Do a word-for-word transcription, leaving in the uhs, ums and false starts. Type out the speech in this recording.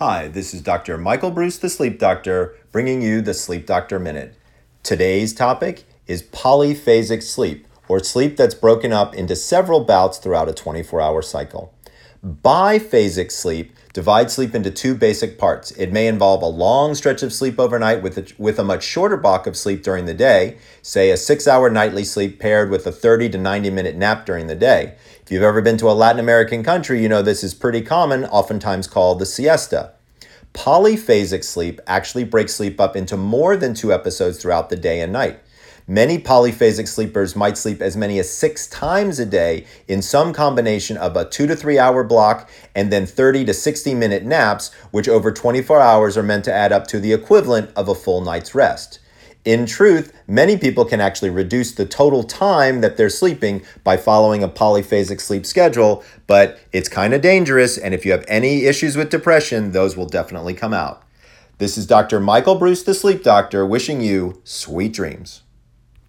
Hi, this is Doctor Michael Bruce, the Sleep Doctor, bringing you the Sleep Doctor Minute. Today's topic is polyphasic sleep, or sleep that's broken up into several bouts throughout a twenty-four hour cycle. Biphasic sleep divides sleep into two basic parts. It may involve a long stretch of sleep overnight with a, with a much shorter block of sleep during the day, say a six hour nightly sleep paired with a thirty to ninety minute nap during the day. If you've ever been to a Latin American country, you know this is pretty common, oftentimes called the siesta. Polyphasic sleep actually breaks sleep up into more than two episodes throughout the day and night. Many polyphasic sleepers might sleep as many as six times a day in some combination of a two to three hour block and then thirty to sixty minute naps, which over twenty-four hours are meant to add up to the equivalent of a full night's rest. In truth, many people can actually reduce the total time that they're sleeping by following a polyphasic sleep schedule, but it's kind of dangerous, and if you have any issues with depression, those will definitely come out. This is Doctor Michael Bruce, the Sleep Doctor, wishing you sweet dreams.